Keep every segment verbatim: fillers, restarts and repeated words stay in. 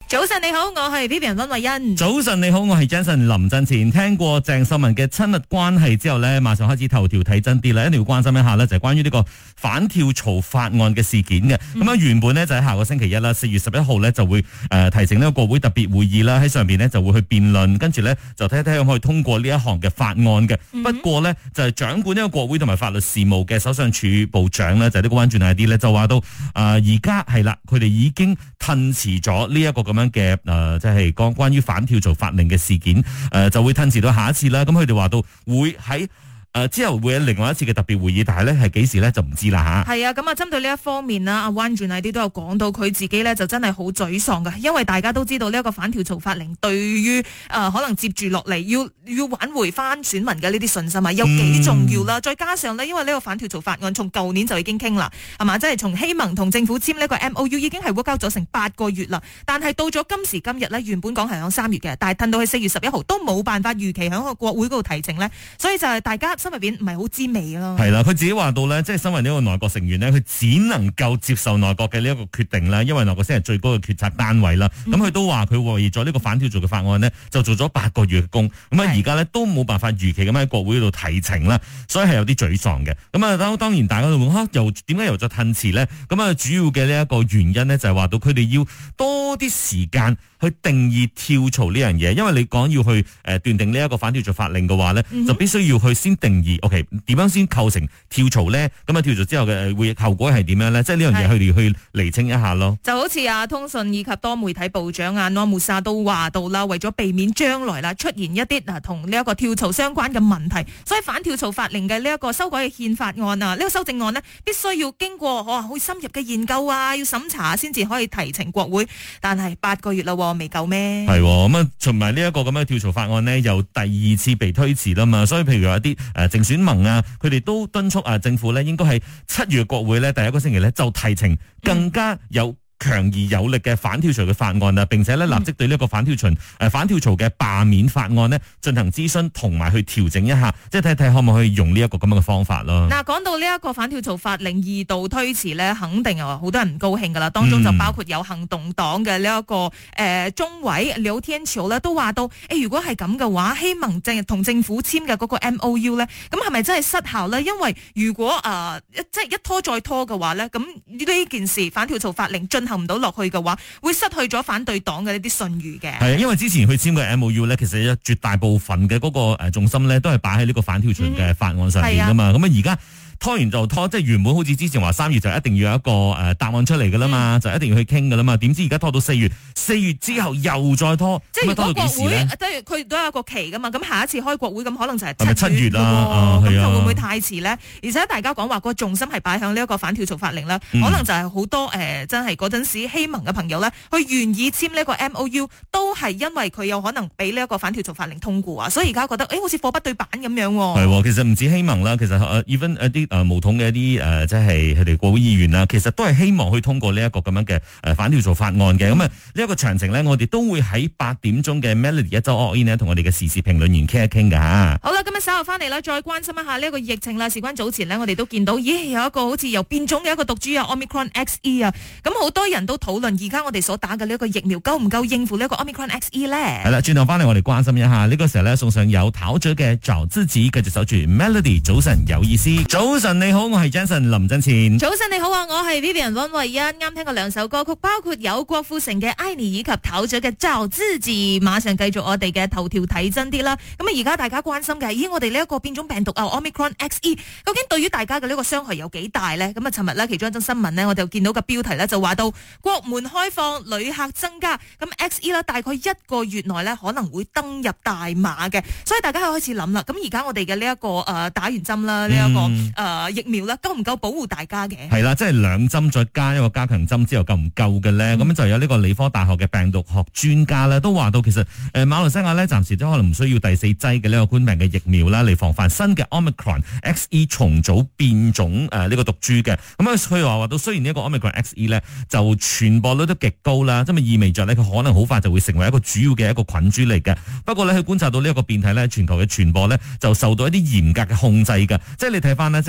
早晨你好，我係 Vivian 溫慧欣。 早晨你好，我係 Jason 林振前。聽過鄭秀文嘅親密關係之後呢，馬上開始頭條睇真啲啦，一定要關心一下呢，就係關於呢個反跳槽法案嘅事件嘅。咁、嗯、啊，原本呢，就喺下個星期一啦，四月十一號呢，就會誒、呃、提呈呢個國會特別會議啦，喺上邊呢，就會去辯論，跟住呢，就睇睇可唔可以通過呢一項嘅法案嘅。嗯、不過呢，就係、是、掌管呢個國會同埋法律事務嘅首相署部長呢，就係、是、呢個溫俊毅啲呢，就話到誒而家係啦，佢、呃、哋已經褪遲咗呢一個咁樣嘅誒。呃即係講關於反跳槽法令嘅事件，誒、呃、就會褪遲到下一次啦。咁佢哋話到會喺。誒，之後會有另外一次嘅特別會議，但係咧係幾時咧就唔知啦吓。係啊，咁啊針對呢一方面啦，阿溫俊毅啲都有講到，佢自己咧就真係好沮喪㗎，因為大家都知道呢一個反跳槽法令對於誒、呃、可能接住落嚟要要挽回翻選民嘅呢啲信心啊，有幾重要啦。嗯、再加上呢，因為呢個反跳槽法案從舊年就已經傾啦，係嘛，即係從希盟同政府簽呢個 M O U 已經係 work out 咗成八個月啦。但係到咗今時今日呢，原本講係響三月嘅，但係褪到去四月十一號都冇辦法預期響個國會嗰度提呈呢。所以就係大家心入邊唔係好知味咯，係啦， 佢自己話到咧，即係身為呢個內閣成員呢，佢只能夠接受內閣嘅呢一個決定啦，因為內閣先係最高嘅決策單位啦。咁佢、嗯、都話佢為咗呢個反跳槽嘅法案呢，就做咗八個月嘅工，咁啊而家呢，都冇辦法如期咁喺國會度提呈啦，所以係有啲沮喪嘅。咁啊當當然大家都問吓，又點解又再褪遲呢？咁啊主要嘅呢一個原因呢，就係話到佢哋要多啲時間去定義跳槽呢樣嘢，因為你講要去誒斷定呢一個反跳槽法令嘅話呢，嗯、哼就必須要去先定義 ，OK。點樣先構成跳槽咧？咁啊跳槽之後嘅會後果係點樣咧？即係呢樣嘢佢哋去釐清一下咯。就好似啊通訊以及多媒體部長啊諾穆薩都話到啦，為咗避免將來啦出現一啲啊同呢一個跳槽相關嘅問題，所以反跳槽法令嘅呢一個修改嘅憲法案啊，呢、這個修正案呢，必須要經過哇好深入嘅研究啊，要審查先至可以提呈國會。但係八個月啦，未夠咩？係咁啊，同埋呢一個咁嘅跳槽法案呢，又第二次被推遲啦嘛。所以譬如話一啲誒淨選盟啊。佢哋都敦促啊政府咧，應該喺七月國會咧第一個星期咧就提呈更加有強而有力嘅反跳槽嘅法案啊，並且咧立即對呢一個反跳槽誒、呃、反跳槽嘅罷免法案呢進行諮詢同埋去調整一下，即係睇睇可唔可以用呢一個咁樣嘅方法咯。嗱，講到呢一個反跳槽法令二度推遲咧，肯定又好多人唔高興噶啦。當中就包括有行動黨嘅呢一個誒、呃、中委廖天朝咧，都話到誒、欸，如果係咁嘅話，希望正同政府簽嘅嗰個 M O U 咧，咁係咪真係失效咧？因為如果誒、呃、即係一拖再拖嘅話咧，咁呢件事反跳槽法令進行唔到落去嘅話，會失去咗反對黨嘅呢啲信譽嘅。係啊，因為之前佢簽嘅 M O U 咧，其實有絕大部分嘅嗰個誒重心咧，都係擺喺呢個反跳槽嘅法案上邊噶嘛。咁啊而家拖完就拖，即係原本好似之前話三月就一定要有一個誒答案出嚟噶啦嘛，嗯、就一定要去傾噶啦嘛。點知而家拖到四月，四月之後又再拖，即係如果國會即係佢都有一個期噶嘛。咁下一次開國會咁可能就係七月啦，咁就會唔會太遲咧？而且大家講話個重心係擺向呢一個反跳槽法令啦，嗯、可能就係好多誒、呃、真係嗰陣時希盟嘅朋友咧，去願意簽呢一個 M O U， 都係因為佢有可能俾呢一個反跳槽法令通過啊，所以而家覺得誒、欸、好似貨不對版咁樣。係，其實唔止希盟啦，其實誒 even 一啲。誒，巫統嘅一啲誒，即係佢哋國會議員啊，其實都係希望去通過呢一個咁樣嘅誒反跳槽法案嘅。咁啊、嗯，呢一個詳情咧，我哋都會喺八點鐘嘅 Melody 一周 all in 咧，同我哋嘅時事評論員傾一傾噶吓。好啦，今日稍後翻嚟啦，再關心一下呢一個疫情啦。事關早前呢，我哋都見到，咦，有一個好似又變種嘅一個毒株啊 ，Omicron X E 啊，咁好多人都討論，而家我哋所打嘅呢一個疫苗夠唔夠應付呢一個 Omicron X E 咧？係啦，轉頭翻嚟我哋關心一下，呢、這個時候咧送上有陶喆嘅找自己，繼續守住 Melody。早晨有意思，早晨你好，我係 Jason 林振前。早晨你好啊，我係 Vivian 溫慧欣。啱聽過兩首歌曲，包括有郭富城嘅《愛你》以及陶喆嘅《找自己》。馬上繼續我哋嘅頭條睇真啲啦。咁啊，而家大家關心嘅係，咦，我哋呢一個變種病毒啊 Omicron X E， 究竟對於大家嘅呢個傷害有幾大呢？咁啊，尋日呢，其中一則新聞呢，我就見到個標題呢，就話到國門開放，旅客增加，咁 X E 啦，大概一個月內呢，可能會登入大馬嘅，所以大家開始諗啦。咁而家我哋嘅呢一個誒、呃、打完針啦，呢、這、一個誒、嗯呃、疫苗啦，夠唔夠保護大家嘅？係啦，即係兩針再加一個加強針之後夠唔夠嘅咧？咁、嗯、就有呢個理科大學嘅病毒學專家咧，都話到其實誒、呃、馬來西亞咧暫時都可能唔需要第四劑嘅呢個冠病嘅疫苗啦，嚟防範新嘅 Omicron X E 重組變種誒呢、呃這個毒株嘅。咁啊佢話話到雖然呢一個 Omicron X E 咧就傳播率都極高啦，即係意味着咧佢可能好快就會成為一個主要嘅一個菌株嚟嘅。不過咧佢觀察到呢一個變體咧全球嘅傳播咧就受到一啲嚴格嘅控制嘅。即係你睇翻呢，即係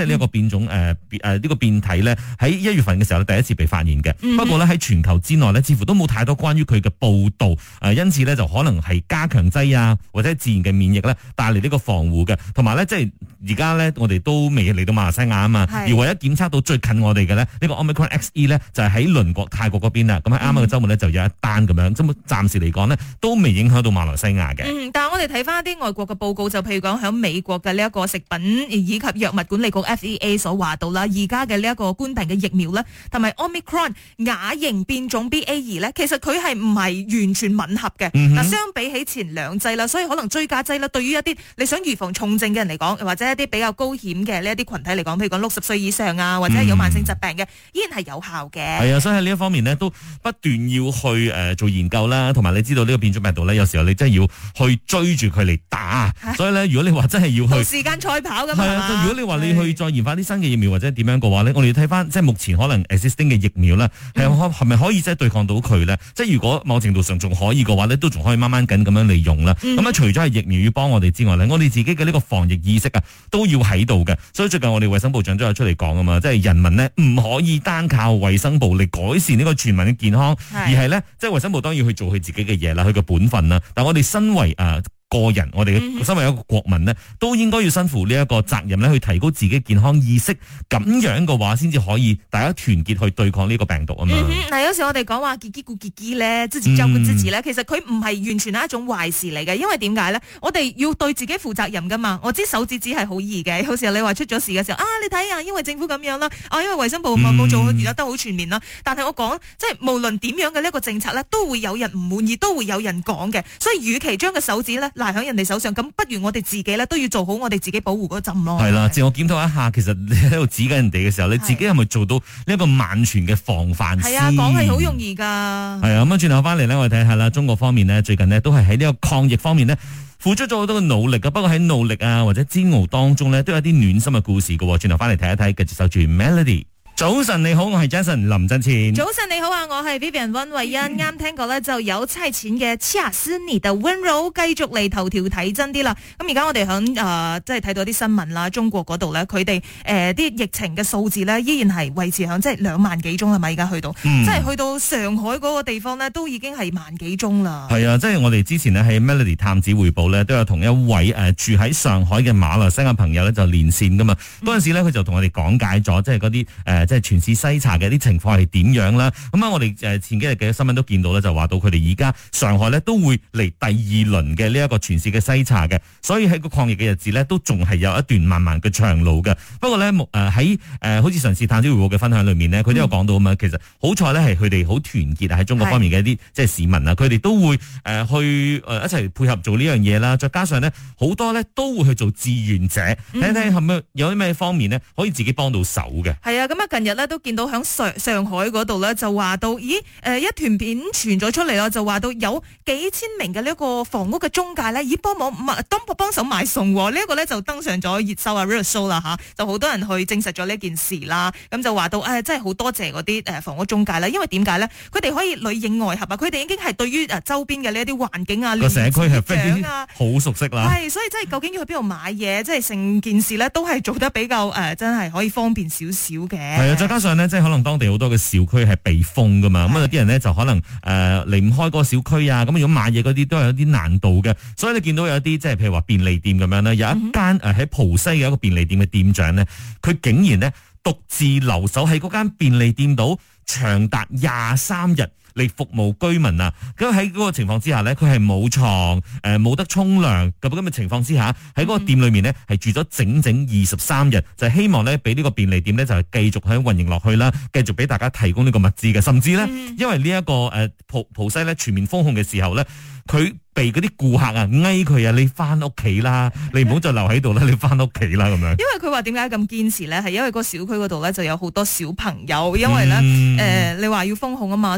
係呢一個變種誒誒呢個變體咧，喺一月份嘅時候第一次被發現嘅。嗯、不過咧喺全球之內咧，似乎都冇太多關於佢嘅報導，誒、呃，因此咧就可能係加強劑啊，或者自然嘅免疫咧帶嚟呢個防護嘅，同埋咧即係而家咧我哋都未嚟到馬來西亞啊嘛，而唯一檢測到最近我哋嘅咧呢個 Omicron X E 咧就係喺鄰國泰國嗰邊啦。咁喺啱啱嘅週末咧就有一單咁樣，咁暫時嚟講呢，都未影響到馬來西亞嘅。 嗯，但係我哋睇翻一啲外國嘅報告，就譬如講喺美國嘅呢一個食品以及藥物管理局 F D A 所話到啦，而家嘅呢一個冠病嘅疫苗咧，同埋 Omicron 亞型變種 B A 二 咧，其實佢係唔係完全吻合嘅。嗱、嗯哼，相比起前兩劑啦，所以可能追加劑啦，對於一啲你想預防重症嘅人嚟講，或者一啲比較高險嘅呢一啲群體嚟講，譬如講六十歲以上啊，或者係有慢性疾病嘅，嗯、依然係有效嘅。 係啊，所以喺呢一方面呢，都不斷要去誒、呃、做研究啦，同埋你知道呢個變種病毒咧，有時候你真係要去追住佢嚟打，所以咧，如果你話真係要去同時間賽跑咁係啊，如果你話你去再研發啲新嘅疫苗或者點樣嘅話咧，我哋要睇翻即係目前可能 existing 嘅疫苗咧，係係咪可以即係對抗到佢咧？即係如果某程度上仲可以嘅話咧，都仲可以掹掹緊咁樣利用啦。咁啊、嗯，除咗係疫苗要幫我哋之外咧，我哋自己嘅呢個防疫意識啊，都要喺度嘅。所以最近我哋衛生部長都有出嚟講啊嘛，即係人民呢唔可以單靠衛生部嚟改善呢個全民嘅健康，是而係咧即係衛生部當然要去做佢自己嘅嘢啦，佢嘅本分啦。但我哋身為誒。呃個人，我哋身為一個國民呢，都應該要身負呢一個責任咧，去提高自己健康意識，咁樣嘅話，先至可以大家團結去對抗呢個病毒啊嘛。 嗱、嗯，有時我哋講話自己顧自己咧，自己照顧自己咧，其實佢唔係完全係一種壞事嚟嘅，因為點解咧？我哋要對自己負責任噶嘛。我知手指指係好易嘅，有時候你話出咗事嘅時候，啊，你睇下，因為政府咁樣啦，啊，因為衛生部冇冇做得好全面啦。嗯、但係我講，即係無論點樣嘅呢一個政策咧，都會有人唔滿意，都會有人講嘅。所以，與其將個手指咧，賴喺人哋手上，咁不如我哋自己咧都要做好我哋自己保護嗰陣咯。係啦， 自我檢討一下，其實你喺度指緊人哋嘅時候，你自己係咪做到呢一個萬全嘅防範先？係啊， 講係好容易噶。 係啊，咁啊，轉頭翻嚟咧，我哋睇下啦，中國方面呢，最近呢都係喺呢個抗疫方面呢，付出咗好多嘅努力噶。不過喺努力啊或者煎熬當中呢，都有啲暖心嘅故事噶。轉頭翻嚟睇一睇，繼續守住 Melody。早晨你好，我係 Jason 林振前。 早晨你好啊，我係 Vivian 溫慧欣。啱、嗯、聽過咧，就有差錢嘅恰斯尼的溫柔，繼續嚟頭條睇真啲啦。咁而家我哋響誒，即係睇到啲新聞啦，中國嗰度咧，佢哋誒啲疫情嘅數字咧，依然係維持響即係兩萬幾宗啦，咪而家去到，嗯、即係去到上海嗰個地方咧，都已經係萬幾宗啦。係啊，即係我哋之前呢，喺 Melody 探子匯報咧，都有同一位誒、呃、住喺上海嘅馬來西亞朋友咧就連線噶嘛。嗰陣、嗯、時咧，佢就同我哋講解咗，即係嗰啲誒。即係全市篩查嘅啲情況係點樣啦？咁啊，我哋誒前幾日嘅新聞都見到咧，就話到佢哋而家上海咧都會嚟第二輪嘅呢一個全市嘅篩查嘅，所以喺個抗疫嘅日子咧，都仲係有一段漫漫嘅長路嘅。不過咧，誒喺誒好似上次探子回報嘅分享裏面呢，佢都有講到啊嘛。嗯、其實好彩咧，係佢哋好團結喺中國方面嘅一啲即係市民啊，佢哋是都會誒去誒一齊配合做呢樣嘢啦。再加上呢，好多咧都會去做志願者，睇睇係咪有啲咩方面呢，可以自己幫到手嘅。係啊，咁啊近日咧都見到喺上上海嗰度咧，就話到，咦，誒，一段片傳咗出嚟咯，就話到有幾千名嘅呢一個房屋嘅中介咧，咦，幫忙當幫手買餸，呢、這、一個咧就登上咗熱搜啊 real show 啦吓，就好多人去證實咗呢件事啦。咁就話到，誒、哎，真係好多謝嗰啲誒房屋中介啦，因為點解咧？佢哋可以裏應外合啊，佢哋已經係對於誒周邊嘅呢一啲環境啊、 個社區係非常好熟悉啦。 係，所以真係究竟要去邊度買嘢，即係成件事咧都係做得比較誒、呃，真係可以方便少少嘅。 係啊，再加上呢，即係可能當地好多嘅小區係被封噶嘛，咁啊有啲人呢，就可能誒離唔開嗰個小區啊，咁如果買嘢嗰啲都係有啲難度嘅，所以你見到有一啲即係譬如話便利店咁樣呢，有一間誒喺浦西嘅一個便利店嘅店長呢，佢竟然呢獨自留守喺嗰間便利店度長達廿三日嚟服務居民啊！咁喺嗰個情況之下呢，佢係冇床誒冇得沖涼咁咁嘅情況之下，喺嗰個店裏面呢，係住咗整整二十三日，就係、是、希望呢俾呢個便利店呢，就係繼續喺運營落去啦，繼續俾大家提供呢個物資嘅，甚至呢，嗯、因為呢、這、一個誒浦浦西呢全面封控嘅時候呢，佢被嗰啲顧客啊，嗌佢啊，你翻屋企啦，你唔好再留喺度啦，你翻屋企啦咁樣。因為佢話點解咁堅持咧？係因為個小區嗰度咧就有好多小朋友，因為咧誒、嗯呃、你話要封控啊嘛，所以好多人都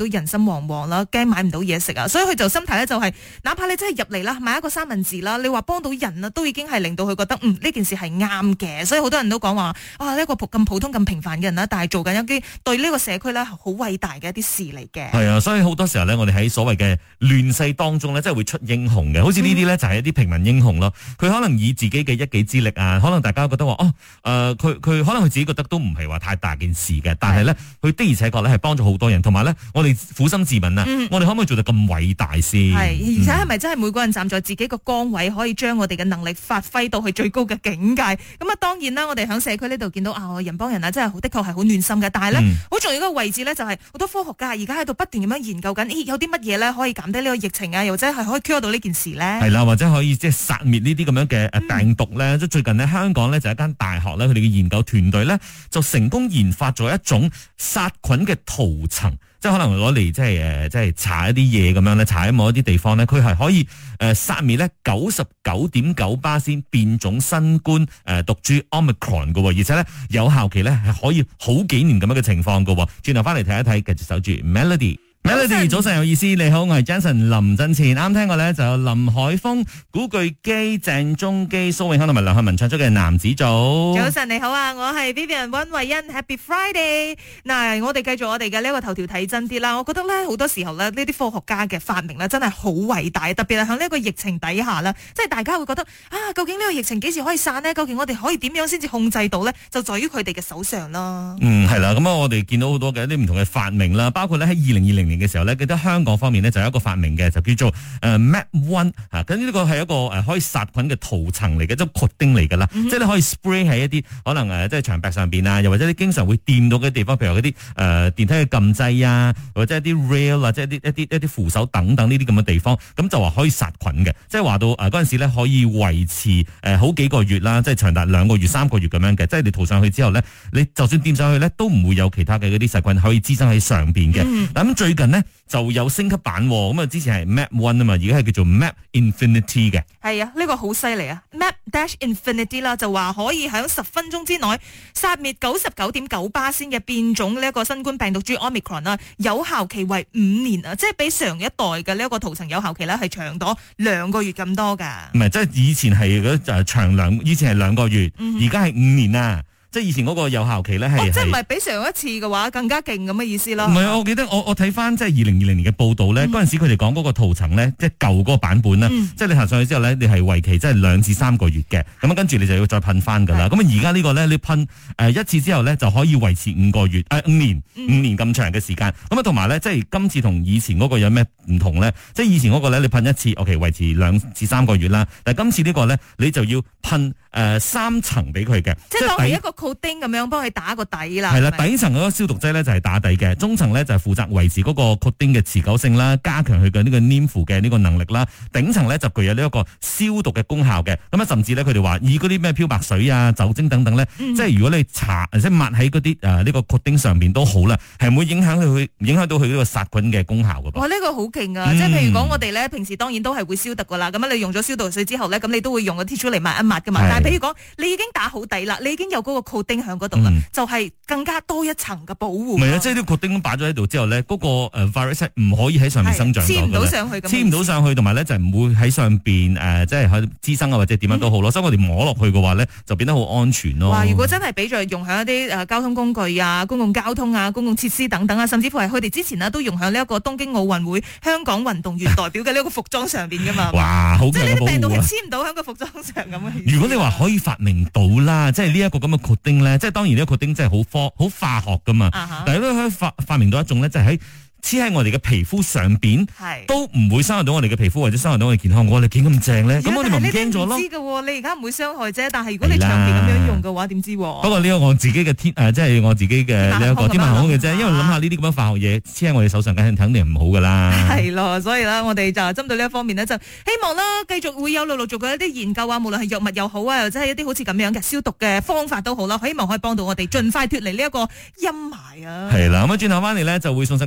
人心惶惶啦，驚買唔到嘢食啊，所以佢就心態咧就係、是，哪怕你真係入嚟啦，買一個三文治啦，你話幫到人啊，都已經係令到佢覺得嗯呢件事係啱嘅，所以好多人都講話啊呢一個咁普通咁平凡嘅人啦，但係做緊一啲對呢個社區咧好偉大嘅一啲事嚟嘅。 係啊，所以好多時候咧，我哋喺所謂嘅亂世當中咧，真係會出英雄嘅，好似呢啲咧就係一啲平民英雄咯。佢可能以自己嘅一己之力啊，可能大家覺得話哦，誒佢佢可能佢自己覺得都唔係話太大件事嘅，但係咧佢的而且確咧係幫助好多人，同埋咧我哋苦心自問啊，嗯、我哋可唔可以做到咁偉大先？ 係，而且係咪真係每個人站在自己個崗位，可以將我哋嘅能力發揮到去最高嘅境界？咁啊，當然啦，我哋喺社區呢度見到啊，人幫人啊，真係的確係好暖心嘅。但係咧，好、嗯、重要一個位置咧，就係好多科學家而家喺度不斷咁樣研究緊，咦，有啲乜嘢咧可以減低呢個疫情啊，又或者係可以 cure 到呢件事咧？係啦，或者可以即係殺滅呢啲咁樣嘅誒病毒咧。即、嗯、最近呢，香港咧就一間大學咧，佢哋嘅研究團隊咧就成功研發咗一種殺菌嘅塗層。即係可能攞嚟即係誒，即係搽一啲嘢咁樣咧，搽喺某一啲地方咧，佢係可以誒殺滅咧九十九點九巴仙變種新冠誒毒株 Omicron 嘅，而且咧有效期咧係可以好幾年咁樣嘅情況嘅。轉頭翻嚟睇一睇，繼續守住 Melody。Melody 早上有意思，你好，我係 Jason 林振前，啱聽過咧就有林海峰、古巨基、鄭中基、蘇永康同埋梁漢文唱出嘅男子組。 早晨你好啊，我係 Vivian 溫慧欣 ，Happy Friday。嗱，我哋繼續我哋嘅呢一個頭條睇真啲啦。我覺得咧好多時候咧呢啲科學家嘅發明咧真係好偉大，特別係喺呢一個疫情底下啦，即係大家會覺得啊，究竟呢個疫情幾時可以散呢？究竟我哋可以點樣先至控制到咧？就在於佢哋嘅手上啦。嗯， 係啦，咁啊，我哋見到好多嘅一啲唔同嘅發明啦，包括咧喺二零二零年嘅時候咧，記得香港方面呢就有一個發明嘅，就叫做誒 Map One 嚇，咁呢個係一個誒可以殺菌嘅塗層嚟嘅，即係擴丁嚟㗎啦，即係你可以 spray 喺一啲可能誒即係牆壁上邊啊，又或者你經常會掂到嘅地方，譬如嗰啲誒電梯嘅撳掣啊，或者一啲 rail 啊，即係一啲一啲一啲扶手等等呢啲咁嘅地方，咁就話可以殺菌嘅，即係話到誒嗰陣時咧可以維持誒好幾個月啦，即係長達兩個月、三個月咁樣嘅，即係你塗上去之後咧，你就算掂上去咧都唔會有其他嘅嗰啲細菌可以滋生喺上邊嘅。咁、嗯、最近呢，就有升級版，咁啊之前係 Map One 啊嘛，而家係叫做 Map Infinity 嘅。 係啊，呢、這個好犀利啊 ！Map Dash Infinity 啦，就話可以喺十分鐘之內殺滅九十九點九巴仙嘅變種呢一個新冠病毒株 Omicron 啦，有效期為五年啊，即係比上一代嘅呢一個塗層有效期咧係長咗兩個月咁多噶。 唔係，即係以前係嗰誒長兩，以前係兩個月，而家係五年啊。即係以前嗰個有效期咧係、哦， 即係唔係比上一次嘅話更加勁咁嘅意思咯？ 唔係啊，我記得我我睇翻即係二零二零年嘅報道咧，嗰、嗯、陣時佢哋講嗰個塗層咧，即係舊嗰個版本咧、嗯，即係你行上去之後咧，你係為期即係兩至三個月嘅，咁跟住你就要再噴翻噶啦。咁啊而家呢個咧，你噴誒一次之後咧就可以維持五個月誒五、呃、年五、嗯、年咁長嘅時間。咁啊同埋咧，即係今次同以前嗰個有咩唔同咧？即係以前嗰個咧，你噴一次，OK 維持兩至三個月啦。但係今次呢個咧，你就要噴誒三層俾佢嘅， 即係當係一個 coating 咁樣幫佢打個底啦。 係啦，底層嗰個消毒劑咧就係打底嘅，中層咧就係負責維持嗰個 coating 嘅持久性啦，加強佢嘅呢個黏附嘅呢個能力啦。頂層咧就具有呢一個消毒嘅功效嘅。咁啊，甚至咧佢哋話以嗰啲咩漂白水啊、酒精等等咧、嗯，即係如果你搽即係抹喺嗰啲誒呢個 coating 上邊都好啦，係唔會影響佢影響到佢呢個殺菌嘅功效噶噃。 哇，呢、這個好勁啊！嗯、即係譬如講我哋咧平時當然都係會消毒噶啦，咁啊你用咗消毒水之後咧，咁你都會用個 tissue 嚟抹一抹噶嘛。但係譬如講你已經打好底啦，你已經有嗰個 coating 喺嗰度啦，就係、是、更加多一層嘅保護。唔係啊，即係啲 coating 擺咗喺度之後咧，嗰、那個誒 virus 唔可以喺上面生長， 黐唔到上去， 黐唔到上去，同埋咧就唔會喺上邊誒、呃，即係喺滋生啊或者點樣都好咯、嗯。所以我哋摸落去嘅話咧，就變得好安全咯。哇！ 如果真係俾著用喺一啲誒交通工具啊、公共交通啊、公共設施等等啊，甚至乎係佢哋之前呢都用喺呢一個東京奧運會香港運動員代表嘅呢個服裝上邊噶嘛。 哇！好強嘅保護啊！ 即係呢啲病毒係黐唔到喺個服裝上咁嘅。 如果你話可以發明到啦，即係呢一個咁嘅 coating 咧，即係當然呢個 coating 真係好科好化學噶嘛。Uh-huh. 但係都可以發發明到一種咧，就係喺黐喺我哋嘅皮膚上邊，都唔會傷害到我哋嘅皮膚或者傷害到我哋健康。我哋幾咁正咧？咁我哋咪唔驚咗咯。知㗎，你而家唔會傷害啫。但係如果你長期咁樣用嘅話，點知？不過呢個我自己嘅天誒，即係我自己嘅呢一個天馬行空嘅啫。因為諗下呢啲咁樣化學嘢黐喺我哋手上，梗係肯定唔好噶啦。係咯，所以咧，我哋就針對呢一方面呢，就希望啦，繼續會有陸陸續續嘅一啲研究啊，無論係藥物又好啊，或者係一啲好似咁樣嘅消毒嘅方法都好啦，希望可以幫到我哋盡快脫離呢一個陰霾啊。係啦，咁啊轉頭翻嚟咧，就會送上今日嘅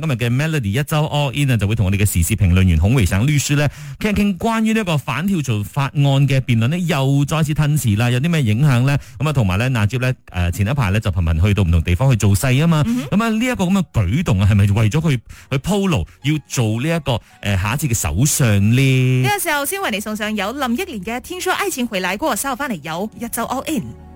Melody 一周 All In 啊，就會同我哋嘅時事評論員孔維省律師咧傾一傾關於呢個反跳槽法案嘅辯論呢，又再次吞遲啦，有啲咩影響咧？咁啊，同埋咧，納吉咧誒前一排咧就頻頻去到唔同地方去做勢啊嘛，咁啊呢一個咁嘅舉動啊，係咪為咗佢去鋪路要做呢、這、一個誒、呃、下一次嘅首相呢？ 呢個時候先為你送上有林憶蓮嘅《天說愛情回來過》，稍後翻嚟有一周 All In。